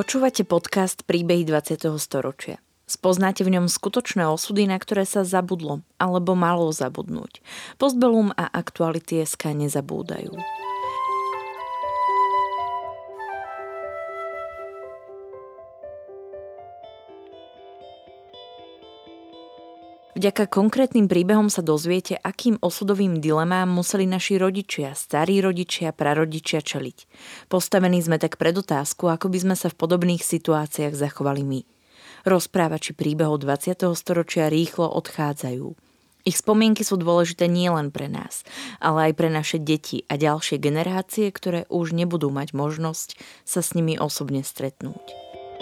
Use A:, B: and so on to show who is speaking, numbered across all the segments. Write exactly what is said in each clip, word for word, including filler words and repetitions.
A: Počúvate podcast Príbehy dvadsiateho storočia. Spoznáte v ňom skutočné osudy, na ktoré sa zabudlo alebo malo zabudnúť. Postbellum a Aktuality bodka es ká nezabúdajú. Vďaka konkrétnym príbehom sa dozviete, akým osudovým dilemám museli naši rodičia, starí rodičia, prarodičia čeliť. Postavení sme tak pred otázku, ako by sme sa v podobných situáciách zachovali my. Rozprávači príbehov dvadsiateho storočia rýchlo odchádzajú. Ich spomienky sú dôležité nielen pre nás, ale aj pre naše deti a ďalšie generácie, ktoré už nebudú mať možnosť sa s nimi osobne stretnúť.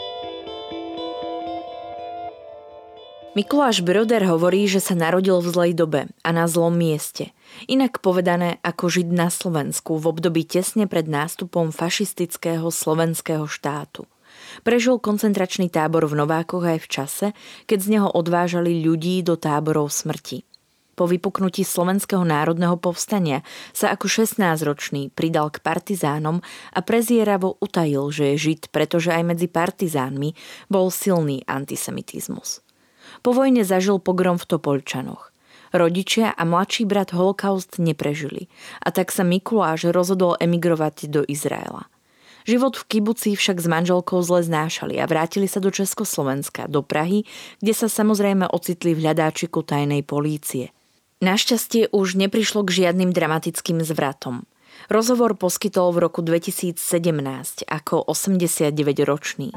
A: Mikuláš Broder hovorí, že sa narodil v zlej dobe a na zlom mieste. Inak povedané ako Žid na Slovensku v období tesne pred nástupom fašistického slovenského štátu. Prežil koncentračný tábor v Novákoch aj v čase, keď z neho odvážali ľudí do táborov smrti. Po vypuknutí Slovenského národného povstania sa ako šestnásťročný pridal k partizánom a prezieravo utajil, že je Žid, pretože aj medzi partizánmi bol silný antisemitizmus. Po vojne zažil pogrom v Topoľčanoch. Rodičia a mladší brat holokaust neprežili a tak sa Mikuláš rozhodol emigrovať do Izraela. Život v kibuci však s manželkou zle znášali a vrátili sa do Československa, do Prahy, kde sa samozrejme ocitli v hľadáčiku tajnej polície. Našťastie už neprišlo k žiadnym dramatickým zvratom. Rozhovor poskytol v roku dvetisícsedemnásť ako osemdesiatdeväťročný.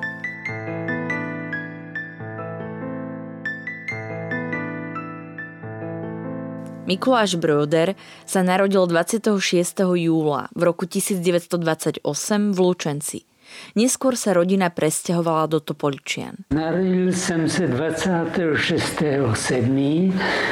A: Mikuláš Broder sa narodil dvadsiateho šiesteho júla v roku tisícdeväťstodvadsaťosem v Lučenci. Neskôr sa rodina presťahovala do Topoľčian.
B: Narodil som sa dvadsiateho šiesteho júla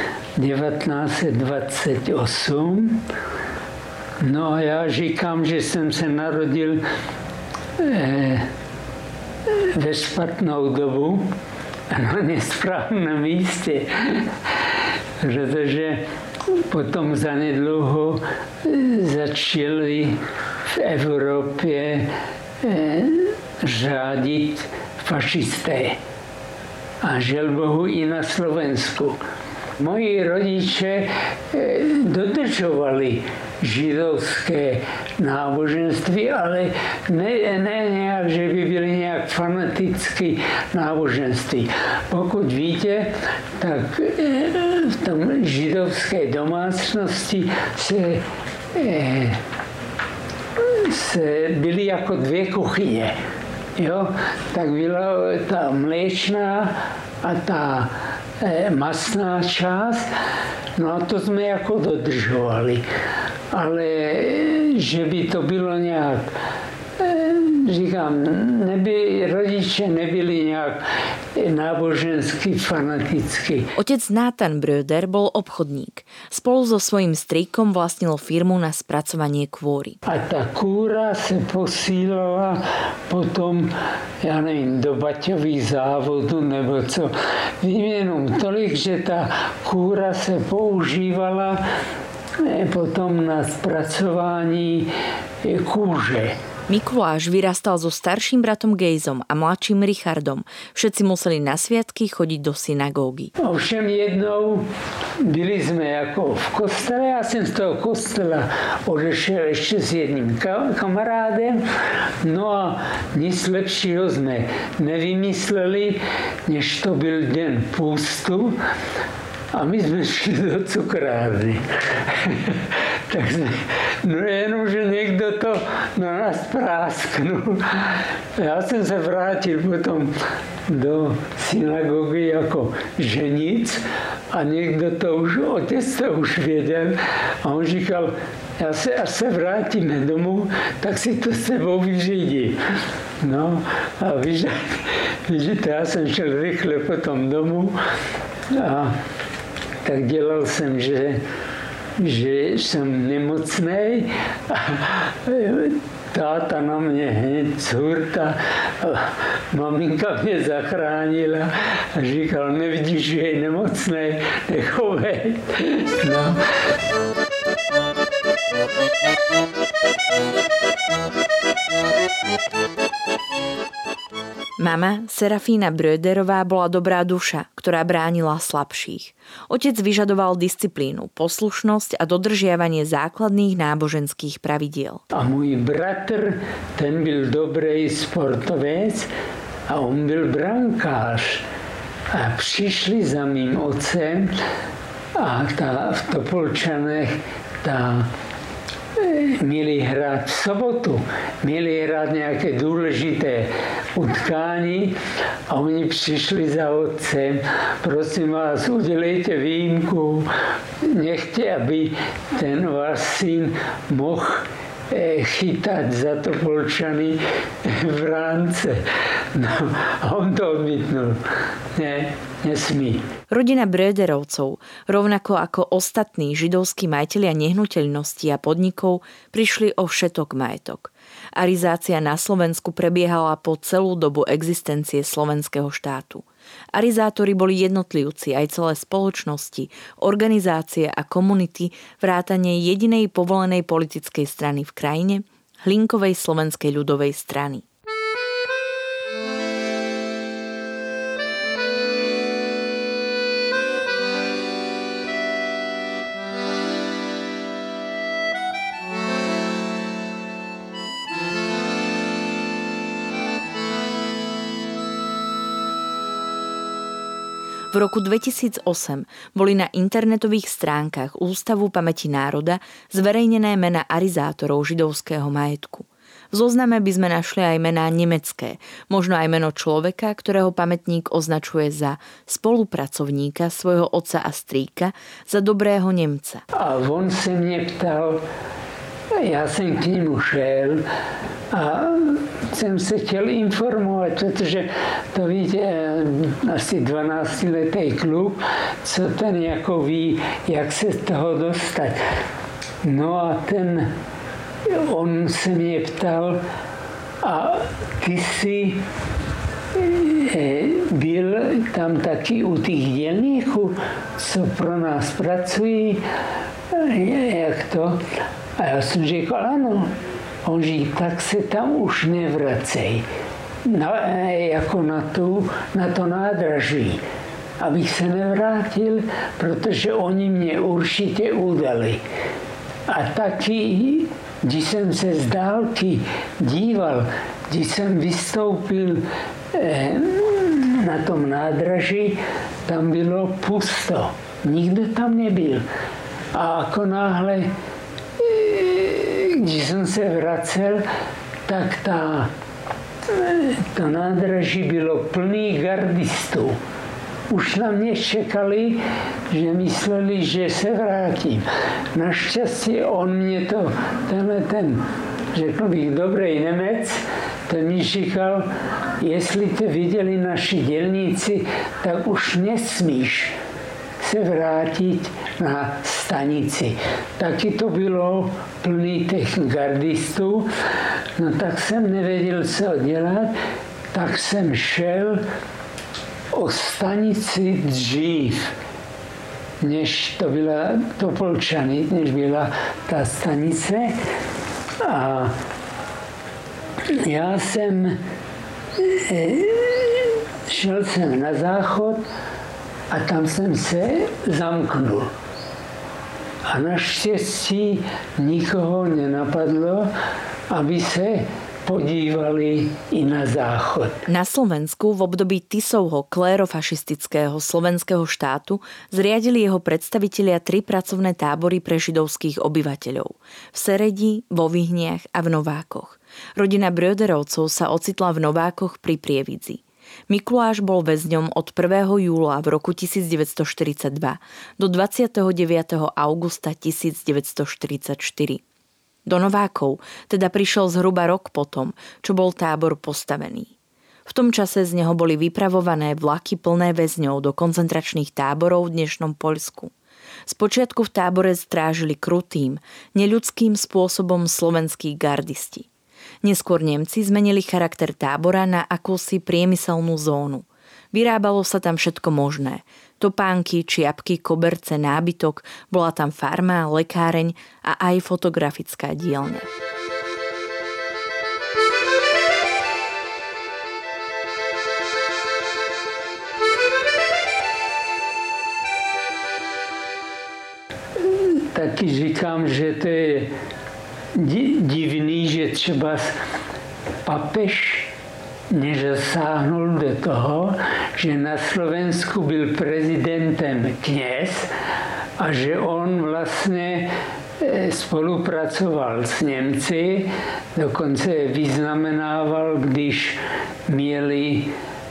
B: devätnásťstodvadsaťosem. No a ja říkám, že som sa narodil e, ve špatnou dobu na nesprávnom míste. Protože potom zanedlouho začali v Evropě řádit fašisté. A žel Bohu i na Slovensku. Moji rodiče dodržovali židovské náboženství, ale ne, ne nějak, že by byli nějak fanaticky náboženství. Pokud víte, tak v tom židovské domácnosti se, se byly jako dvě kuchyně. Jo? Tak byla ta mléčná a ta masná část, no a to jsme jako dodržovali. Ale že by to bylo nějak, říkám, neby, rodiče nebyli nějak nábožensky, fanaticky.
A: Otec Nátan Broder bol obchodník. Spolu so svojím strýkom vlastnil firmu na spracovanie kôry.
B: A ta kůra se posílala potom, já nevím, do baťových závodů nebo co. Vím jenom tolik, že ta kůra se používala potom na spracování kůže.
A: Mikuláš vyrastal so starším bratom Gejzom a mladším Richardom. Všetci museli na sviatky chodiť do synagógy.
B: Ovšem jednou byli jsme jako v kostele, já jsem z toho kostela odešel ještě s jedním kamarádem, no a nic lepšího jsme nevymysleli, než to byl den půstu. A my jsme šli do cukrárny. Tak jsme, no jenom, že někdo to na nás prásknul. Já jsem se vrátil potom do synagogy jako ženic a někdo to už, otec to už věděl a on říkal, já se, až se vrátíme domů, tak si to s sebou vyřídí. No a vidíte, já jsem šel rychle potom domů a tak dělal jsem, že, že jsem nemocnej a táta na mě hned curta, maminka mě zachránila a říkal, nevidíš, že je nemocnej, nechovej. No.
A: Mama, Serafína Bröderová, bola dobrá duša, ktorá bránila slabších. Otec vyžadoval disciplínu, poslušnosť a dodržiavanie základných náboženských pravidiel.
B: A môj bratr, ten byl dobrý sportovec a on byl brankář. A přišli za mým otcem a ta, v Topolčanech ta měli hrát v sobotu, měli hrát nějaké důležité utkání a oni přišli za otcem, prosím vás, udělejte výjimku, nechte, aby ten váš syn mohl chytať za Topolčany v ránce. No, a on to odmítnul. Nie, nesmí.
A: Rodina Bröderovcov, rovnako ako ostatní židovskí majitelia nehnuteľností a podnikov, prišli o všetok majetok. Arizácia na Slovensku prebiehala po celú dobu existencie slovenského štátu. Arizátori boli jednotlivci, aj celé spoločnosti, organizácie a komunity vrátane jedinej povolenej politickej strany v krajine, Hlinkovej slovenskej ľudovej strany. V roku dvetisícosem boli na internetových stránkach Ústavu pamäti národa zverejnené mená arizátorov židovského majetku. V zozname by sme našli aj mená nemecké, možno aj meno človeka, ktorého pamätník označuje za spolupracovníka svojho otca a strýka, za dobrého Nemca.
B: A on sa mne ptal, ja som k nemu šel a jsem se chtěl informovat, protože to víte, asi dvanáctiletý kluk, co ten jako ví, jak se z toho dostat. No a ten, on se mě ptal, a ty jsi byl tam taky u těch dělníků, co pro nás pracují, jak to? A já jsem říkal, ano. On říká, tak se tam už nevracej, na, jako na, tu, na to nádraží, abych se nevrátil, protože oni mě určitě udali. A taky, když jsem se z dálky díval, když jsem vystoupil eh, na tom nádraží, tam bylo pusto, nikdo tam nebyl. A jako náhle když jsem se vracel, tak ta, to nádraží bylo plný gardistů. Už na mě čekali, že mysleli, že se vrátím. Naštěstí on mě to, tenhle ten, řekl bych, dobrý Němec, ten mi říkal, jestli to viděli naši dělníci, tak už nesmíš se vrátit na stanici. Taky to bylo plný těch gardistů, no tak jsem nevěděl, co dělat, tak jsem šel o stanici dřív, než to byla Topolčany, než byla ta stanice. A já jsem šel jsem na záchod a tam jsem se zamknul. A naštěstí nikoho nenapadlo, aby se podívali i na záchod.
A: Na Slovensku v období Tisovho klérofašistického slovenského štátu zriadili jeho predstavitelia tri pracovné tábory pre židovských obyvateľov. V Seredi, vo Vyhniach a v Novákoch. Rodina Bröderovcov sa ocitla v Novákoch pri Prievidzi. Mikuláš bol väzňom od prvého júla v roku devätnásťstoštyridsaťdva do dvadsiateho deviateho augusta devätnásťstoštyridsaťštyri. Do Novákov teda prišiel zhruba rok potom, čo bol tábor postavený. V tom čase z neho boli vypravované vlaky plné väzňov do koncentračných táborov v dnešnom Poľsku. Spočiatku v tábore strážili krutým, neľudským spôsobom slovenskí gardisti. Neskôr Nemci zmenili charakter tábora na akúsi priemyselnú zónu. Vyrábalo sa tam všetko možné. Topánky, čiapky, koberce, nábytok, bola tam farma, lekáreň a aj fotografická dielňa.
B: taky říkám, že to je divný, že třeba papež nezasáhnul do toho, že na Slovensku byl prezidentem kněz a že on vlastně spolupracoval s Němci, dokonce vyznamenával, když měli,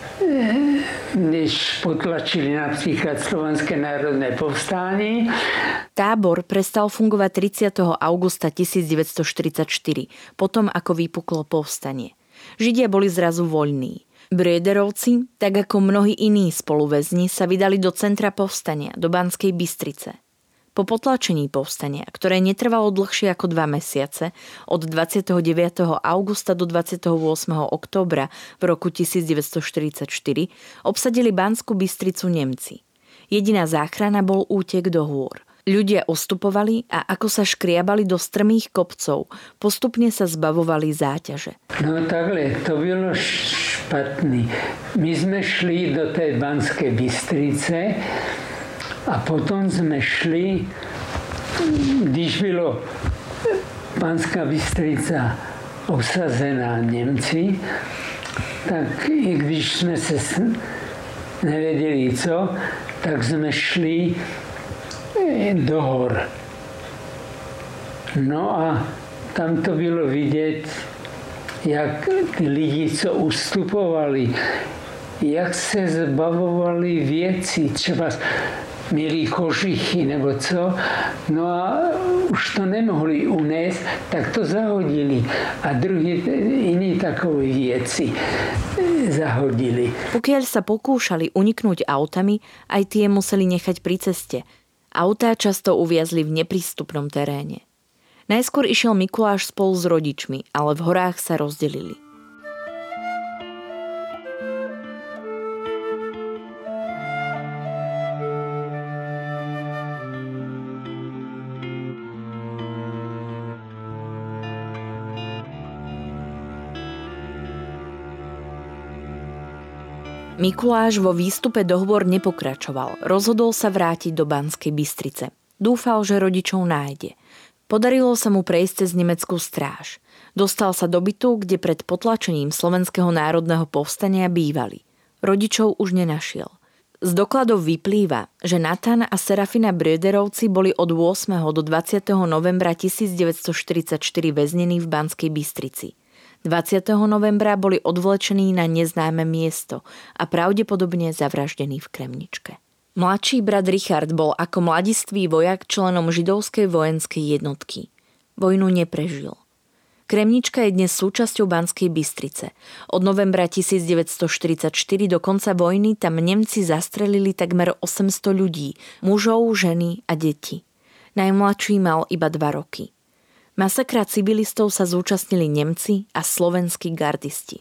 B: když potlačili například Slovenské národné povstání.
A: Tábor prestal fungovať tridsiateho augusta tisícdeväťstoštyridsaťštyri, potom ako vypuklo povstanie. Židia boli zrazu voľní. Bröderovci, tak ako mnohí iní spoluväzni, sa vydali do centra povstania, do Banskej Bystrice. Po potlačení povstania, ktoré netrvalo dlhšie ako dva mesiace, od dvadsiateho deviateho augusta do dvadsiateho ôsmeho októbra v roku tisícdeväťstoštyridsaťštyri, obsadili Banskú Bystricu Nemci. Jediná záchrana bol útek do hôr. Ľudia ustupovali a ako sa škriabali do strmých kopcov, postupne sa zbavovali záťaže.
B: No takhle, to bylo špatný. My sme šli do tej Banskej Bystrice a potom sme šli, když bylo Banská Bystrica obsazená Němci, tak i když sme se nevedeli co, tak sme šli do hor. No a tam to bylo vidět, jak ty lidi, co ustupovali, jak se zbavovali věcí, třeba měli kožichy nebo co, no a už to nemohli unést, tak to zahodili. A druhý, iní takové věci zahodili.
A: Pokiaľ sa pokúšali uniknúť autami, aj tie museli nechať pri ceste. Autá často uviazli v neprístupnom teréne. Najskôr išiel Mikuláš spolu s rodičmi, ale v horách sa rozdelili. Mikuláš vo výstupe do hôr nepokračoval. Rozhodol sa vrátiť do Banskej Bystrice. Dúfal, že rodičov nájde. Podarilo sa mu prejsť cez nemeckú stráž. Dostal sa do bytu, kde pred potlačením Slovenského národného povstania bývali. Rodičov už nenašiel. Z dokladov vyplýva, že Natan a Serafina Bröderovci boli od ôsmeho do dvadsiateho novembra tisícdeväťstoštyridsaťštyri väznení v Banskej Bystrici. dvadsiateho novembra boli odvlečení na neznáme miesto a pravdepodobne zavraždení v Kremničke. Mladší brat Richard bol ako mladistvý vojak členom židovskej vojenskej jednotky. Vojnu neprežil. Kremnička je dnes súčasťou Banskej Bystrice. Od novembra tisícdeväťstoštyridsaťštyri do konca vojny tam Nemci zastrelili takmer osemsto ľudí, mužov, ženy a deti. Najmladší mal iba dva roky. Masakra civilistov sa zúčastnili Nemci a slovenskí gardisti.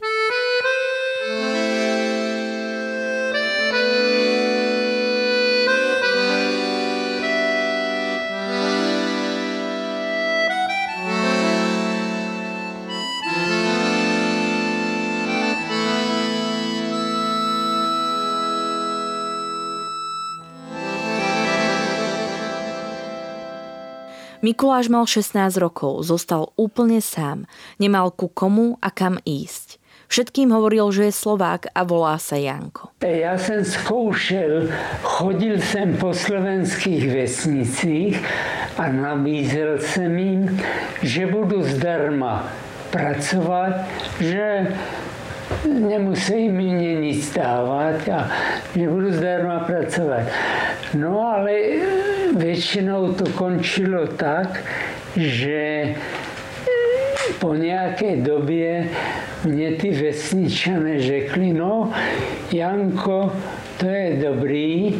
A: Mikuláš mal šestnásť rokov, zostal úplne sám, nemal ku komu a kam ísť. Všetkým hovoril, že je Slovák a volá sa Janko.
B: Ja som skúšel, chodil som po slovenských vesnicích a nabízel som im, že budu zdarma pracovať, že nemusí mi nic dávať a že budu zdarma pracovať. No ale väčšinou to končilo tak, že po nejakej době mne tí vesničané řekli, no Janko, to je dobrý,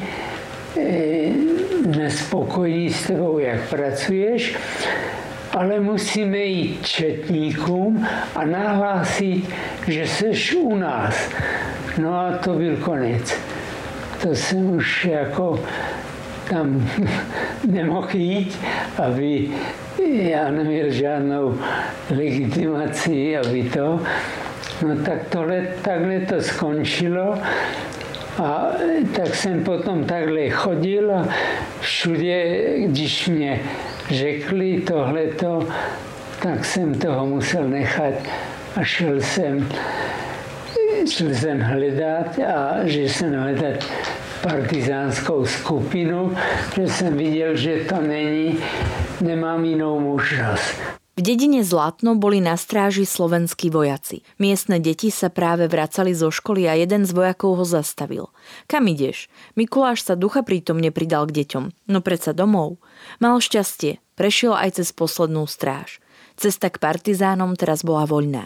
B: sme spokojní s tebou, jak pracuješ, ale musíme jít četníkům a nahlásit, že seš u nás. No a to byl konec. To jsem už jako tam nemohl jít, aby já neměl žádnou legitimaci, aby to. No tak tohle, takhle to skončilo. A tak jsem potom takhle chodil a všude, když mě řekli tohleto, tak jsem toho musel nechat a šel jsem, šel jsem hledat a že jsem hledat partizánskou skupinu, že jsem viděl, že to není, nemám jinou možnost.
A: V dedine Zlatno boli na stráži slovenskí vojaci. Miestne deti sa práve vracali zo školy a jeden z vojakov ho zastavil. Kam ideš? Mikuláš sa ducha prítomne pridal k deťom. No predsa domov. Mal šťastie. Prešiel aj cez poslednú stráž. Cesta k partizánom teraz bola voľná.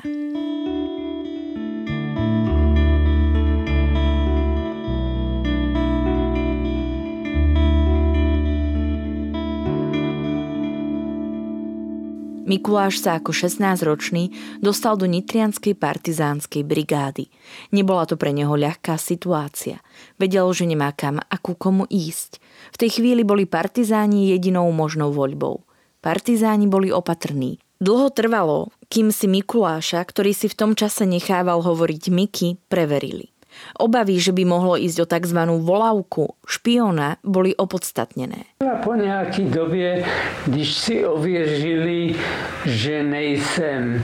A: Mikuláš sa ako šestnásťročný dostal do nitrianskej partizánskej brigády. Nebola to pre neho ľahká situácia. Vedel, že nemá kam a ku komu ísť. V tej chvíli boli partizáni jedinou možnou voľbou. Partizáni boli opatrní. Dlho trvalo, kým si Mikuláša, ktorý si v tom čase nechával hovoriť Miky, preverili. Obavy, že by mohlo ísť o tzv. Volávku špiona, boli opodstatnené.
B: A po nějaké době, když si ověřili, že nejsem,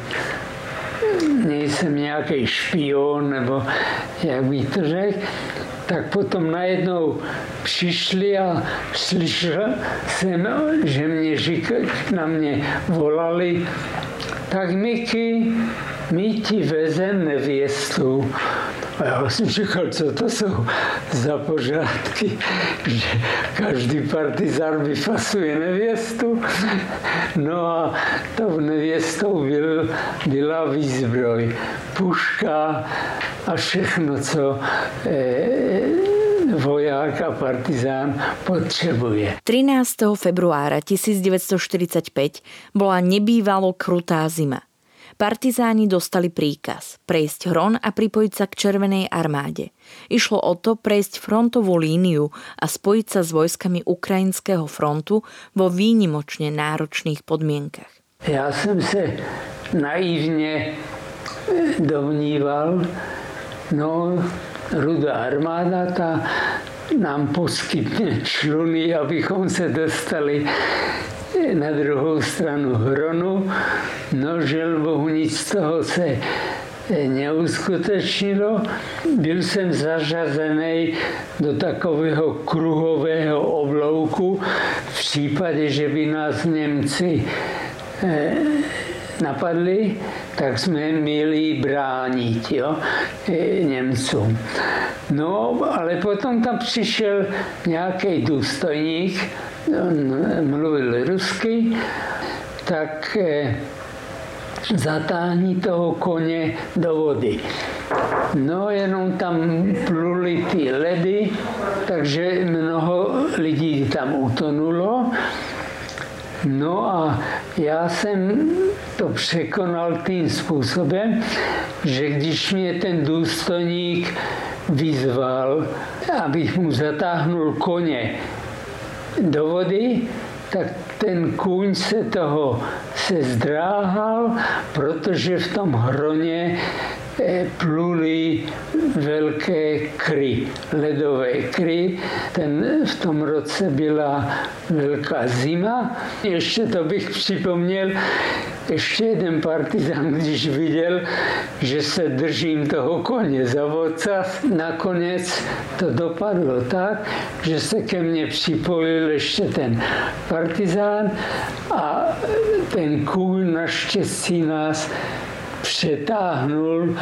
B: nejsem nějaký špion, nebo jak bych to řekl, tak potom najednou přišli a slyšel jsem, že mě říkali, na mě volali, tak Miky, my ti vezem nevěstu. A já jsem říkal, co to jsou za pořádky, že každý partizán vyfasuje nevěstu. No a tou nevěstou byl, byla výzbroj, puška a všechno, co eh, voják a partizán potřebuje.
A: trinásteho februára tisícdeväťstoštyridsaťpäť bola nebývalo krutá zima. Partizáni dostali príkaz prejsť Hron a pripojiť sa k Červenej armáde. Išlo o to prejsť frontovú líniu a spojiť sa s vojskami Ukrajinského frontu vo výnimočne náročných podmienkach.
B: Já jsem se naivně domníval, no Rudá armáda ta nám poskytne čluny, abychom se dostali na druhou stranu Hronu. No, žel Bohu, nic z toho se neuskutečnilo. Byl jsem zařazený do takového kruhového oblouku v případě, že by nás Němci eh, napadli, tak jsme měli bránit, jo, Němcům. No, ale potom tam přišel nějaký důstojník, on mluvil rusky, tak eh, zatáhni toho koně do vody. No, jenom tam pluli ty ledy, takže mnoho lidí tam utonulo. No a já jsem to překonal tím způsobem, že když mě ten důstojník vyzval, abych mu zatáhnul koně do vody, tak ten kůň se toho se zdráhal, protože v tom Hroně pluli velké kry, ledové kry. Ten, v tom roce byla velká zima. Ještě to bych připomněl, ještě jeden partizán, když viděl, že se držím toho koně za vocas, nakonec to dopadlo tak, že se ke mně připojil ještě ten partizán a ten kůň naštěstí nás přetáhnul,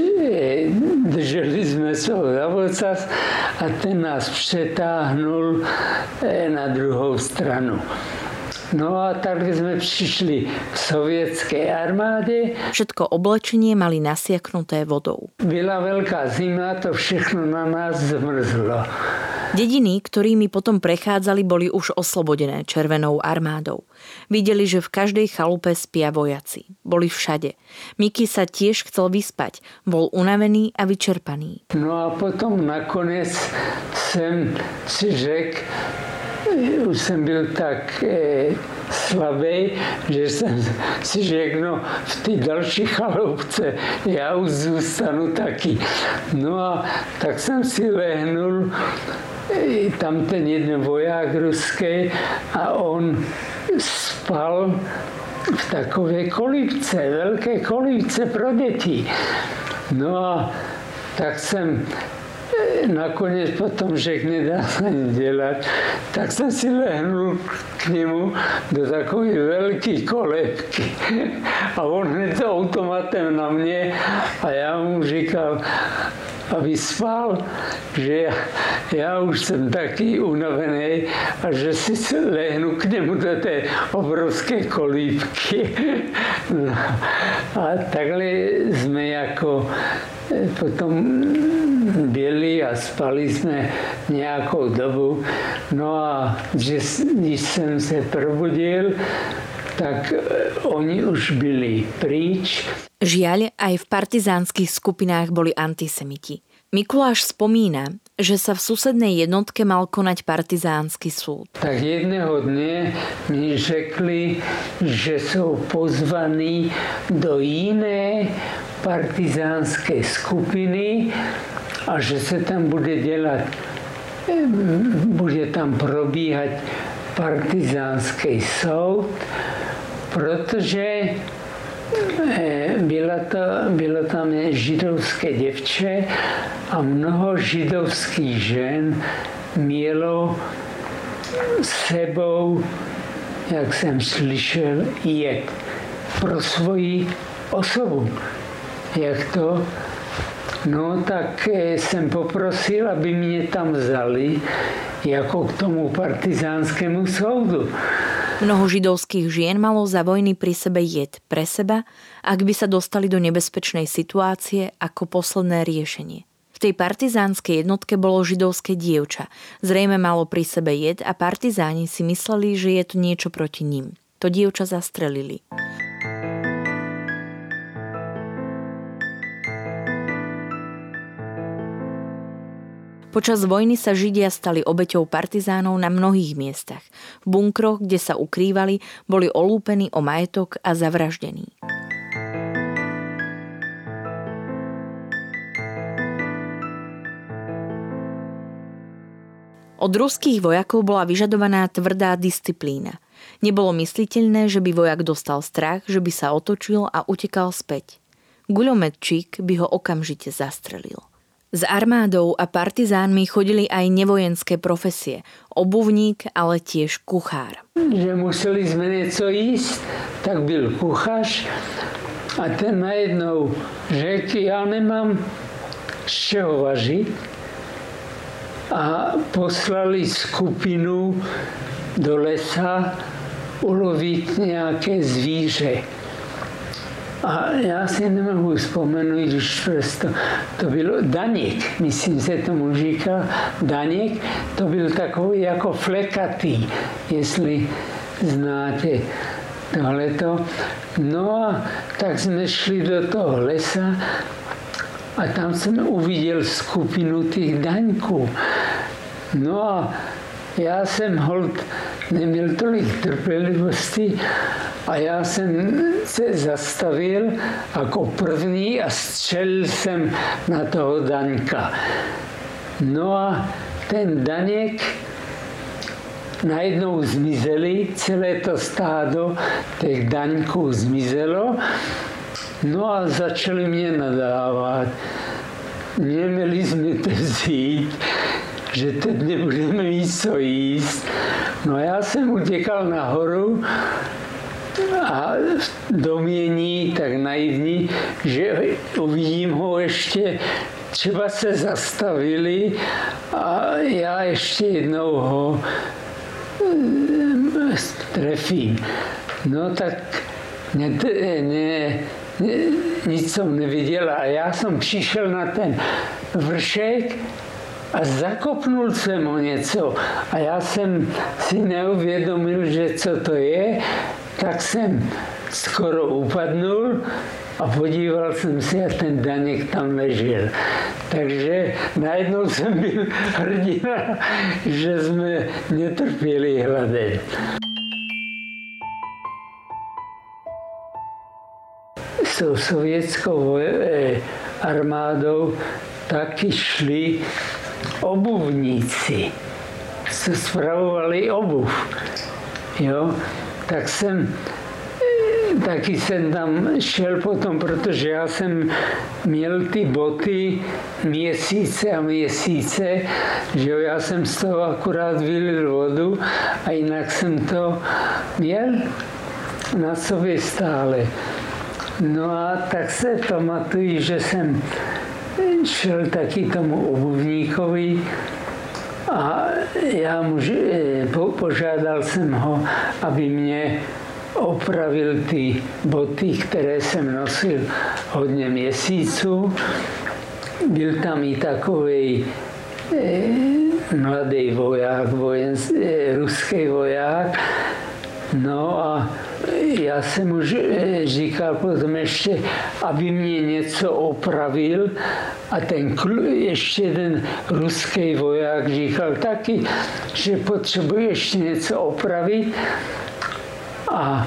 B: drželi jsme se ho za vocas a ten nás přetáhnul na druhou stranu. No a tak sme prišli k sovietskej armáde.
A: Všetko oblečenie mali nasiaknuté vodou.
B: Byla veľká zima, to všechno na nás zmrzlo.
A: Dediny, ktorými potom prechádzali, boli už oslobodené Červenou armádou. Videli, že v každej chalupe spia vojaci. Boli všade. Miky sa tiež chcel vyspať. Bol unavený a vyčerpaný.
B: No a potom nakonec jsem si řekl, už jsem byl tak e, slabý, že jsem si řekl, no v té další chaloupce já už zůstanu taky. No a tak jsem si lehnul, e, tam ten jeden voják ruský a on spal v takové kolibce, veľké kolibce pro deti. No a tak som nakoniec potom, že nedá sa nič delať, tak som si lehnul k nemu do takovej veľkej kolébky. A on hneď automatem na mne a ja mu říkal, aby spal, že ja, ja už som taký unavený a že si lehnu k nemu do tej obrovskej kolíbky. No. A takhle sme ako potom byli a spali sme nejakou dobu. No a když som sa probudil, tak oni už byli pryč.
A: Žiaľ, aj v partizánskych skupinách boli antisemiti. Mikuláš spomína, že sa v susednej jednotke mal konať partizánsky súd.
B: Tak jedného dne mi řekli, že sú pozvaní do inej partizánskej skupiny a že sa tam bude delať, bude tam probíhať partizánsky súd, protože Bylo, to, bylo tam židovské děvče a mnoho židovských žen mělo sebou, jak jsem slyšel, jed pro svoji osobu. Jak to? No tak jsem poprosil, aby mě tam vzali jako k tomu partizánskému soudu.
A: Mnoho židovských žien malo za vojny pri sebe jed pre seba, ak by sa dostali do nebezpečnej situácie ako posledné riešenie. V tej partizánskej jednotke bolo židovské dievča. Zrejme malo pri sebe jed a partizáni si mysleli, že je to niečo proti ním. To dievča zastrelili. Počas vojny sa Židia stali obeťou partizánov na mnohých miestach. V bunkroch, kde sa ukrývali, boli olúpení o majetok a zavraždení. Od ruských vojakov bola vyžadovaná tvrdá disciplína. Nebolo mysliteľné, že by vojak dostal strach, že by sa otočil a utekal späť. Guľometčík by ho okamžite zastrelil. S armádou a partizánmi chodili aj nevojenské profesie. Obuvník, ale tiež kuchár.
B: Že museli sme niečo jísť, tak byl kuchař a ten najednou řekl, ja nemám z čeho važiť a poslali skupinu do lesa uloviť nejaké zvíře. A já si nemohu vzpomenout, když to, to bylo Daněk, myslím se tomu říkal Daněk, to byl takový jako flekatý, jestli znáte tohleto. No a tak jsme šli do toho lesa a tam jsem uviděl skupinu těch daňků. No a já jsem hold neměl tolik trpělivosti a já jsem se zastavil jako první a střelil jsem na toho Daňka. No a ten Daněk najednou zmizeli, celé to stádo těch Daňků zmizelo, no a začali mě nadávat. Neměli jsme to vzít, že teď nebudeme mít co jíst. No já jsem utěkal nahoru a domění tak naivní, že uvidím ho ještě, třeba se zastavili a já ještě jednou ho trefím. No tak ne, ne, ne, nic jsem neviděl a já jsem přišel na ten vršek a zakopnul jsem ho něco. A já jsem si neuvědomil, že co to je, tak jsem skoro upadnul a podíval jsem se a ten Daněk tam ležel. Takže najednou jsem byl hrdina, že jsme netrpěli hladem. S sovětskou armádou taky šli obuvníci, co spravovali obuv. Jo? tak jsem taky jsem tam šel potom, protože já jsem měl ty boty měsíce a měsíce, že jo, já jsem z toho akurát vylil vodu a jinak jsem to měl na sobě stále. No a tak se pamatuju, že jsem šel taky tomu obuvníkovi a já mu, po, požádal jsem ho, aby mě opravil ty boty, které jsem nosil hodně měsíců. Byl tam i takový eh, mladý voják, vojen, eh, ruský voják. No a já jsem mu říkal potom ještě, aby mě něco opravil a ten ještě ten ruský voják říkal taky, že potřebuje ještě něco opravit. A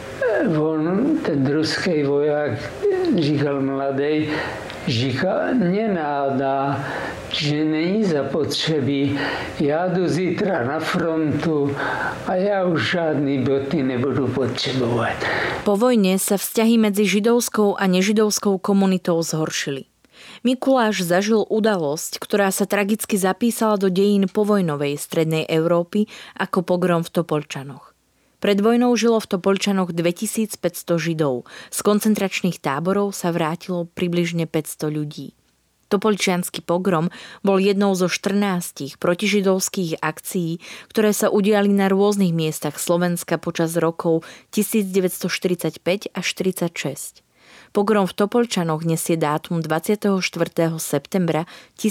B: on, ten ruský voják, říkal mladý, říkal, nenádá, že není zapotřebí. Já jdu zítra na frontu a já už žádný boty nebudu potřebovat.
A: Po vojne sa vzťahy medzi židovskou a nežidovskou komunitou zhoršili. Mikuláš zažil udalosť, ktorá sa tragicky zapísala do dejín povojnovej strednej Európy ako pogrom v Topolčanoch. Pred vojnou žilo v Topolčanoch dvetisícpäťsto Židov. Z koncentračných táborov sa vrátilo približne päťsto ľudí. Topolčiansky pogrom bol jednou zo štrnástich protižidovských akcií, ktoré sa udiali na rôznych miestach Slovenska počas rokov devätnásťstoštyridsaťpäť až štyridsaťšesť. Pogrom v Topolčanoch nesie dátum dvadsiateho štvrtého septembra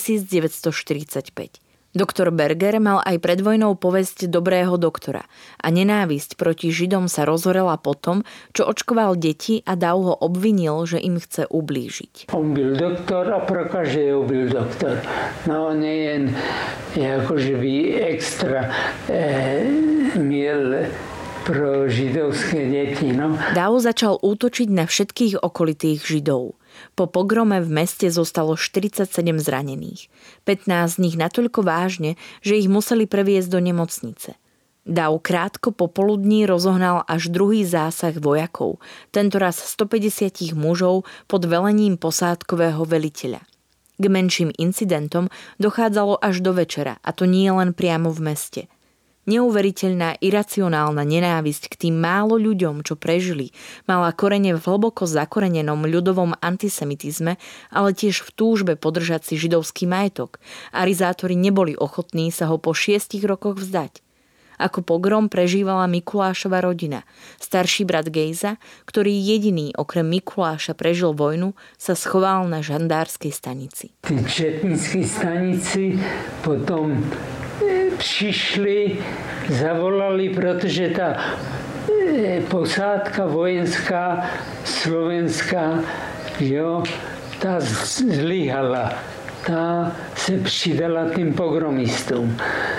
A: devätnásťstoštyridsaťpäť. Doktor Berger mal aj pred vojnou povesť dobrého doktora a nenávisť proti Židom sa rozhorela potom, čo očkoval deti a Dau ho obvinil, že im chce ublížiť.
B: On byl doktor a pro každého byl doktor. No nejen jakože by extra eh, měl pro židovské deti. No.
A: Dau začal útočiť na všetkých okolitých Židov. Po pogrome v meste zostalo štyridsaťsedem zranených. pätnásť z nich natoľko vážne, že ich museli previesť do nemocnice. Dau krátko popoludní rozohnal až druhý zásah vojakov, tentoraz stopäťdesiat mužov pod velením posádkového veliteľa. K menším incidentom dochádzalo až do večera, a to nie len priamo v meste. Neuveriteľná iracionálna nenávisť k tým málo ľuďom, čo prežili, mala korene v hlboko zakorenenom ľudovom antisemitizme, ale tiež v túžbe podržať si židovský majetok. Arizátori neboli ochotní sa ho po šiestich rokoch vzdať. Ako pogrom prežívala Mikulášova rodina. Starší brat Gejza, ktorý jediný okrem Mikuláša prežil vojnu, sa schoval na žandárskej stanici.
B: Tí četníckí stanici potom přišli, zavolali, protože ta posádka vojenská slovenská, jo, ta zlyhala. Ta se přidala tým pogromistům.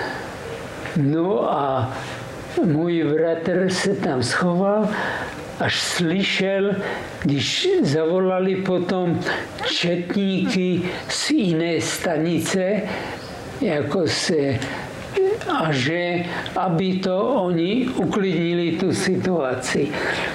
B: No a můj bratr se tam schoval, až slyšel, když zavolali potom četníky z jiné stanice, jako se, a že, aby to oni uklidnili tu situaci.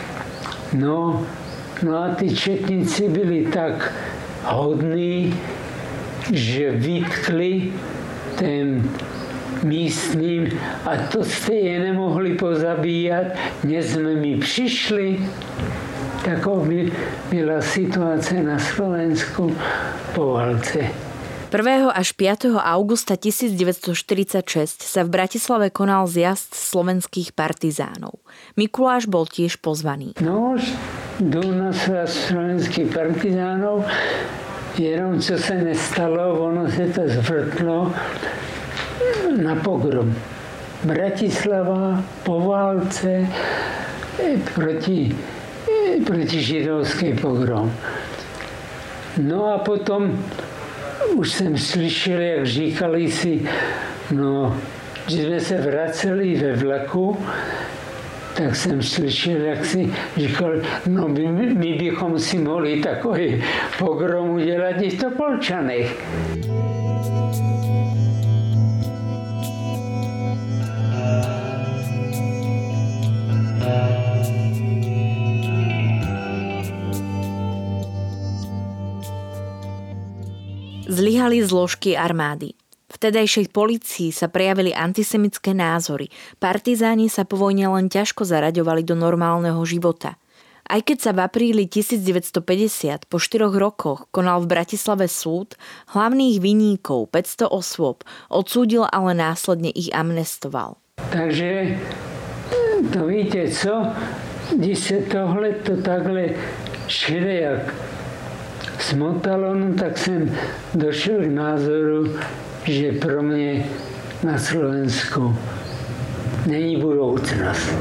B: No, no a ty četníci byli tak hodní, že vytkli ten místním, a to jste je nemohli pozabíjat, dnes jsme mi přišli. Taková byla situace na Slovensku po válce.
A: prvého až piateho augusta devätnásťstoštyridsaťšesť sa v Bratislave konal zjazd slovenských partizánov. Mikuláš bol tiež pozvaný.
B: No, jdu na zjazd slovenských partizánov, jenom co se nestalo, ono se to zvrtlo na pogrom. Bratislava po válce proti, proti židovský pogrom. No a potom už jsem slyšel, jak říkali si, no, že jsme se vraceli ve vlaku, tak jsem slyšel, jak si říkal, no my, my bychom si mohli takový pogrom udělat i v Topolčanech.
A: Pomáhali zložky armády. V vtedajšej polícii sa prejavili antisemické názory. Partizáni sa po vojne len ťažko zaraďovali do normálneho života. Aj keď sa v apríli devätnásťstopäťdesiat po štyroch rokoch konal v Bratislave súd, hlavných vinníkov päťsto osôb odsúdil, ale následne ich amnestoval.
B: Takže to víte co? Když se tohle to takhle všelijak smotalo, no tak jsem došel k názoru, že pro mě na Slovensku není budoucnost.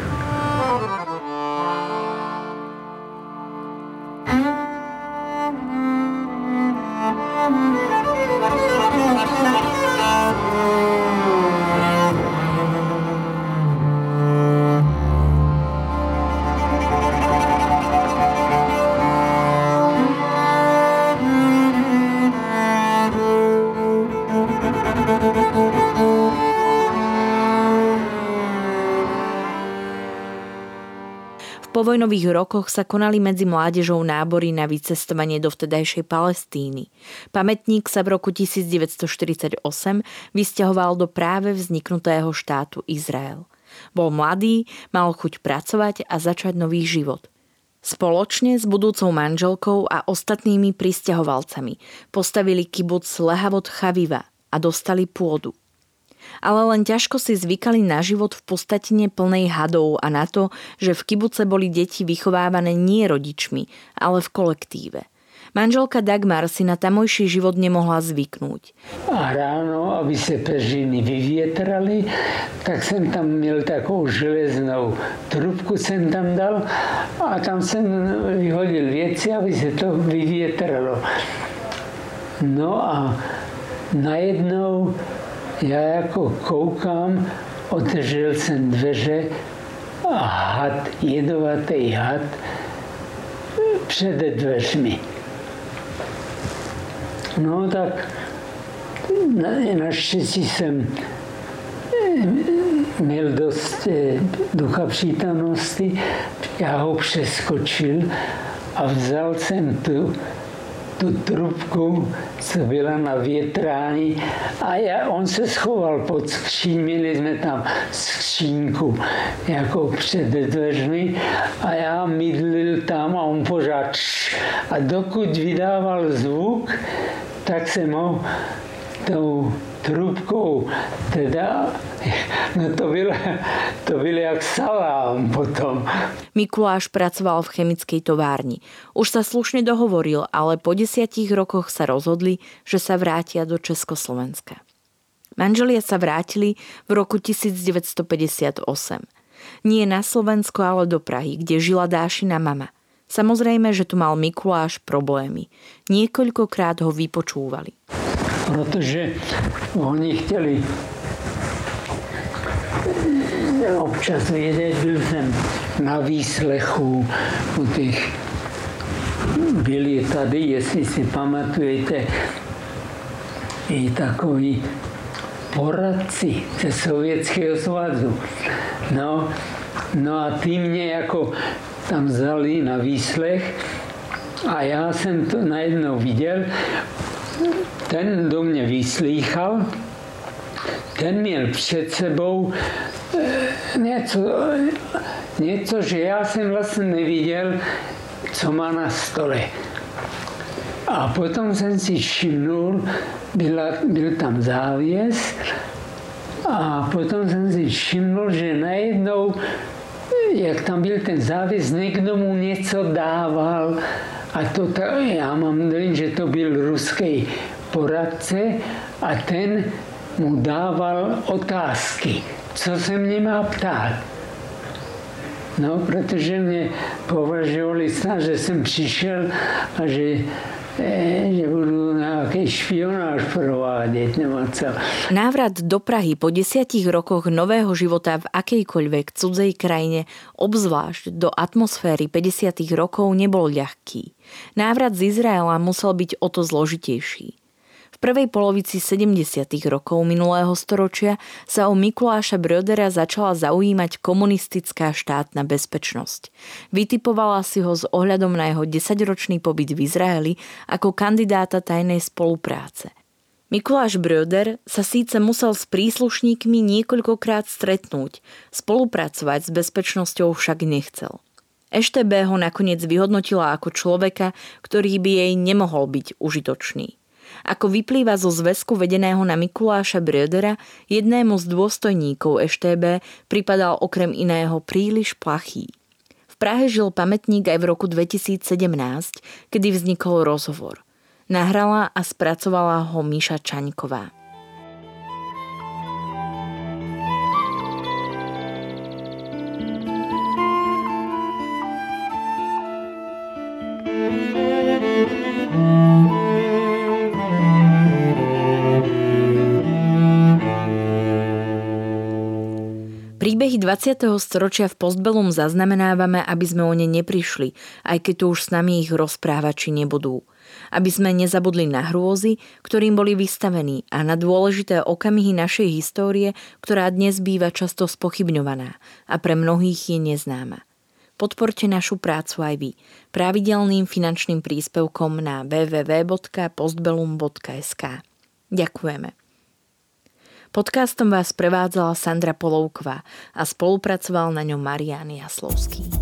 A: V povojnových rokoch sa konali medzi mládežou nábory na vycestovanie do vtedajšej Palestíny. Pamätník sa v roku devätnásťstoštyridsaťosem vysťahoval do práve vzniknutého štátu Izrael. Bol mladý, mal chuť pracovať a začať nový život. Spoločne s budúcou manželkou a ostatnými prisťahovalcami postavili kibuc Lehavot Chaviva a dostali pôdu. Ale len ťažko si zvykali na život v pustatine plnej hadov a na to, že v kibuce boli deti vychovávané nie rodičmi, ale v kolektíve. Manželka Dagmar si na tamojší život nemohla zvyknúť.
B: A ráno, aby se peřiny vyvětrali, tak jsem tam měl takovou železnou trubku jsem tam dal a tam jsem vyhodil věci, aby se to vyvětralo. No a najednou já jako koukám, otevřel jsem dveře a had, jedovatý had před dveřmi. No tak na, naštěstí jsem měl dost ducha přítomnosti, já ho přeskočil a vzal jsem tu tu trubku, co byla na větrání a já, on se schoval pod skříň, měli jsme tam skřínku jako před dveřmi a já mydlil tam a on pořád a dokud vydával zvuk, tak jsem ho tou trubkou, teda, no to bylo, to bylo jak salám potom.
A: Mikuláš pracoval v chemickej továrni. Už sa slušne dohovoril, ale po desiatich rokoch sa rozhodli, že sa vrátia do Československa. Manželia sa vrátili v roku devätnásťstopäťdesiatosem. Nie na Slovensko, ale do Prahy, kde žila Dášina mama. Samozrejme, že tu mal Mikuláš problémy. Niekoľkokrát ho vypočúvali.
B: Protože oni chtěli občas vědět, byl jsem na výslechu u těch, byli tady, jestli si pamatujete, i takový poradci ze Sovětského svazu. No, no a ty mě jako tam vzali na výslech a já jsem to najednou viděl. Ten do mě vyslýchal, ten měl před sebou něco, něco, že já jsem vlastně neviděl, co má na stole. A potom jsem si všimnul, byla, byl tam závěs a potom jsem si všimnul, že najednou, jak tam byl ten závěs, někdo mu něco dával. A to ta, já mám dojem, že to byl ruský poradce a ten mu dával otázky, co se mě má ptát. No, protože mě považovali snad, že jsem přišel a že, eh, že budu nějaký špionáž provádět nebo co.
A: Návrat do Prahy po desiatich rokoch nového života v akejkoľvek cudzej krajine, obzvlášť do atmosféry päťdesiatych rokov, nebol ľahký. Návrat z Izraela musel byť o to zložitejší. V prvej polovici sedemdesiatych rokov minulého storočia sa o Mikuláša Brödera začala zaujímať komunistická štátna bezpečnosť. Vytipovala si ho s ohľadom na jeho desaťročný pobyt v Izraeli ako kandidáta tajnej spolupráce. Mikuláš Bröder sa síce musel s príslušníkmi niekoľkokrát stretnúť, spolupracovať s bezpečnosťou však nechcel. eš té bé ho nakoniec vyhodnotila ako človeka, ktorý by jej nemohol byť užitočný. Ako vyplýva zo zväzku vedeného na Mikuláša Brödera, jednému z dôstojníkov eš té bé pripadal okrem iného príliš plachý. V Prahe žil pamätník aj v roku dvetisícsedemnásť, kedy vznikol rozhovor. Nahrala a spracovala ho Míša Čaňková. Príbehy dvadsiateho storočia v Postbellum zaznamenávame, aby sme o ne neprišli, aj keď tu už s nami ich rozprávači nebudú. Aby sme nezabudli na hrôzy, ktorým boli vystavení, a na dôležité okamihy našej histórie, ktorá dnes býva často spochybňovaná a pre mnohých je neznáma. Podporte našu prácu aj vy pravidelným finančným príspevkom na w w w bodka postbellum bodka es ka. Ďakujeme. Podcastom vás prevádzala Sandra Polovková a spolupracoval na ňom Marián Jaslovský.